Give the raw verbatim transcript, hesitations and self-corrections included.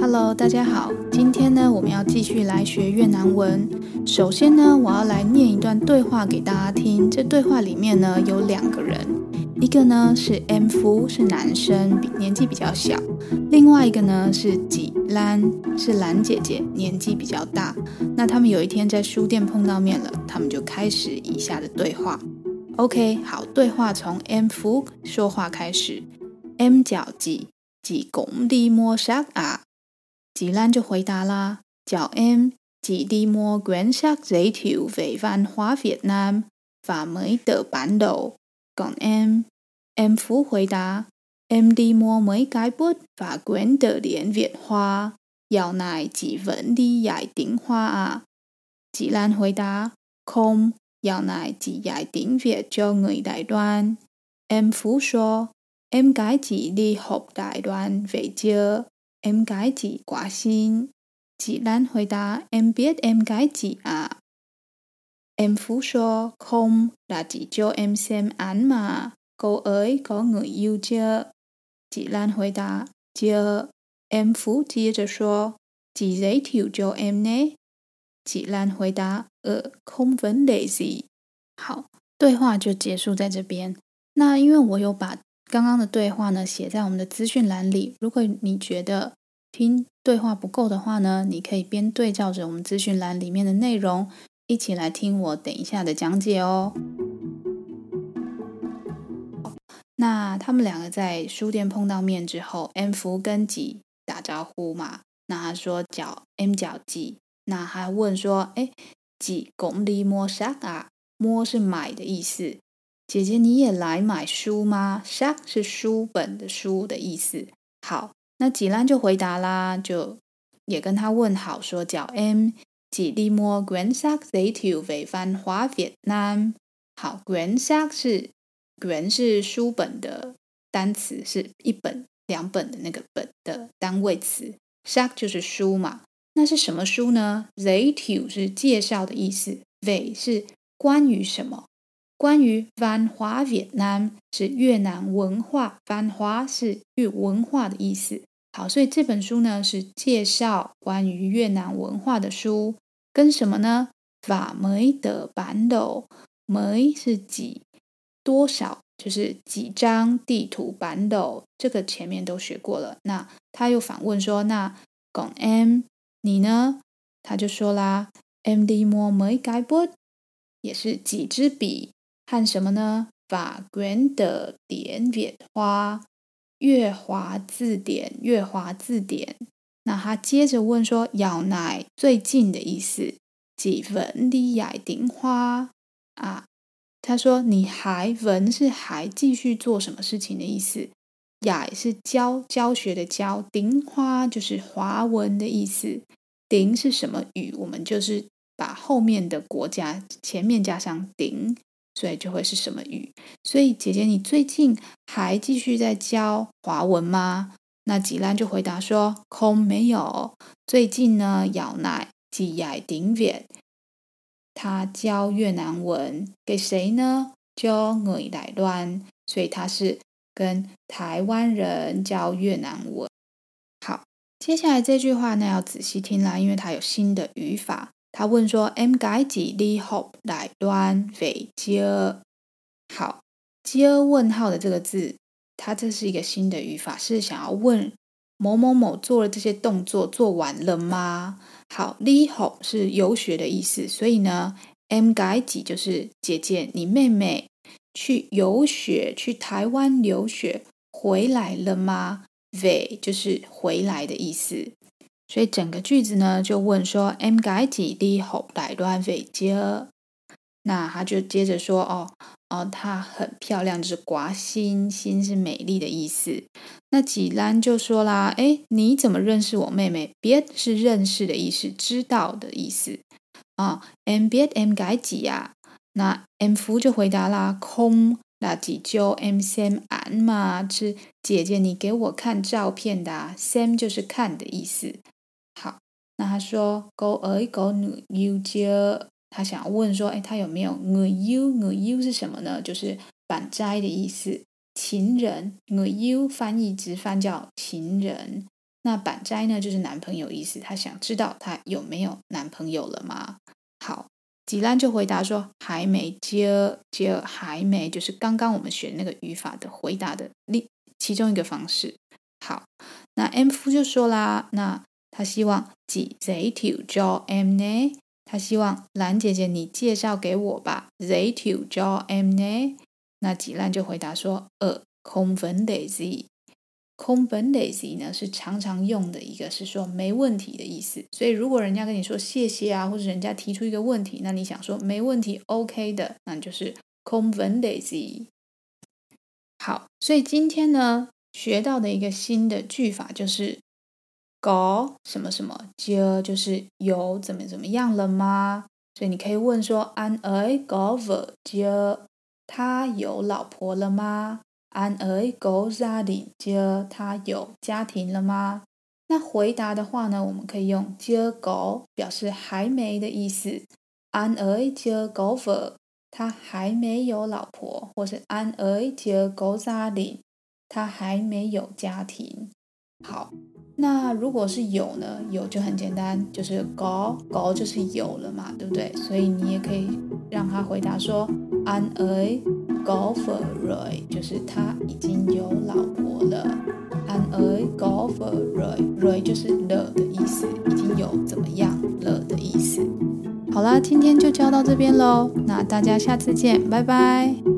Hello， 大家好。今天呢，我們要繼續來學越南文。首先呢，我要來念一段對話給大家聽。這對話裡面呢，有兩個人，一個呢是 Em Phú， 是男生，比年紀比較小；另外一個呢是Chị Lan，是蘭姐姐，年紀比較大。那他們有一天在書店碰到面了，他們就開始以下的對話。OK， 好，對話從 Em Phú 說話開始。Em chào chị, chị cũng đi mua sách à? Chị Lan就回答啦， Chào em, chị đi mua quyển sách giới thiệu về văn hóa Việt Nam và mấy tờ bản đồ. Còn em, Em Phú回答, Em đi mua mấy cái bút và quyển từ điển Việt Hoa. Dạo này chị vẫn đi dạy tiếng Hoa à? Chị Lan回答, Không, dạo này chị dạy tiếng Việt cho người Đài Loan. Em Phú說, Em gái chị đi học Đài Loan về chưa? Em gái chị quá xinh. Chị Lan回答, Em biết em gái chị à? Em Phú說, Không, là chị cho em xem ảnh mà. Cô ấy có người yêu chưa? Chị Lan回答, Chưa. Em Phú接着說, Chị giới thiệu cho em nhé. Chị Lan回答, Ờ, không vấn đề gì. 好，對話就結束在這邊。那因為我有把剛剛的對話呢寫在我們的資訊欄裡，如果你覺得聽對話不夠的話呢，你可以邊對照着我們資訊欄裡面的內容，一起來聽我等一下的講解哦。那他們兩個在書店碰到面之後，Em Phú跟Chị打招呼嘛，那他說叫 Em chào chị，那他問說，哎，Chị cũng đi mua sách à？摸是買的意思。姐姐你也來買書嗎？ sách 是書本的書的意思。好，那Chị Lan就回答啦，就也跟他問好說，叫 Em chị đi mua quyển sách giới thiệu về văn hóa Việt Nam。好，quyển sách是quyển是書本的單詞，是一本兩本的那個本的單位詞。sách 就是書嘛，那是什麼書呢？giới thiệu是介紹的意思，về是關於什麼？關於văn hóa Việt Nam是越南文化，văn hóa是越文化的意思。好，所以這本書呢是介紹關於越南文化的書，跟什麼呢？và mấy tờ bản đồ，mấy是幾，多少就是幾張地圖，bản đồ這個前面都學過了。那他又反問說，那còn em你呢？他就說啦，em đi mua mấy cái bút，也是幾支筆。和什麼呢？法quyển的典việt hoa，越華字典，越華字典。那他接着問說，dạo này最近的意思，chị vẫn đi dạy tiếng Hoa啊？他說你還vẫn是還繼續做什麼事情的意思，dạy是教教學的教，tiếng Hoa就是華文的意思。tiếng是什麼語？我們就是把後面的國家前面加上tiếng。所以就會是什麼語？所以姐姐，你最近還繼續在教華文嗎？那Chị Lan就回答說，Không沒有，最近呢，dạo này chị dạy tiếng Việt，他教越南文給誰呢？教người Đài Loan，所以他是跟台灣人教越南文。好，接下來這句話呢要仔細聽啦，因為它有新的語法。他問說 Em gái chị đi học Đài Loan về chưa？ 好，接問號的這個字，它這是一個新的語法，是想要問某某某做了這些動作做完了嗎？好，đi học是遊學的意思，所以呢 Em gái chị就是姐姐，你妹妹去遊學，去台灣留學回來了嗎？ về 就是回來的意思。所以整個句子呢，就問說 Em gái chị đi học Đài Loan về chưa？ 那他就接着說，哦哦，她很漂亮，就是刮心，心是美麗的意思。那Chị Lan就說啦，誒，你怎麼認識我妹妹？biết是認識的意思，知道的意思啊。Em biết em gái chị à？那 Em Phú就回答啦，Không là chị cho em xem ảnh mà，是姐姐你給我看照片的啊。xem 就是看的意思。好，那他說 Cô ấy có người yêu chưa？ 他想要問說，哎，他有沒有người yêu？người yêu是什麼呢？就是板齋的意思，情人。người yêu翻譯直翻叫情人。 那板齋呢，就是男朋友意思，他想知道他有沒有男朋友了嗎？好，吉蘭就回答說還沒，接接還沒，就是剛剛我們學那個語法的回答的另其中一個方式。好，那 M 夫就說啦，那他希望chị giới thiệu cho em nhé，他希望蘭姐姐你介紹給我吧，giới thiệu cho em nhé。那吉蘭就回答說，呃，không vấn đề gì。không vấn đề gì呢是常常用的一個，是說沒問題的意思。所以如果人家跟你說謝謝啊，或者人家提出一個問題，那你想說沒問題 OK 的，那你就是 không vấn đề gì。好，所以今天呢學到的一個新的句法就是có什麼什麼chưa，就是有怎麼怎麼樣了嗎？所以你可以問說 anh ấy có vợ chưa，他有老婆了嗎？anh ấy có gia đình chưa，他有家庭了嗎？那回答的話呢，我們可以用chưa có表示還沒的意思。anh ấy chưa có vợ，他還沒有老婆，或是 anh ấy chưa có gia đình，他還沒有家庭。好，那如果是有呢？有就很簡單，就是 có có 就是有了嘛，對不對？所以你也可以讓他回答說 anh ấy có vợ rồi，就是他已經有老婆了。anh ấy có vợ rồi，rồi 就是了的意思，已經有怎麼樣了的意思。好啦，今天就教到這邊嘍，那大家下次見，拜拜。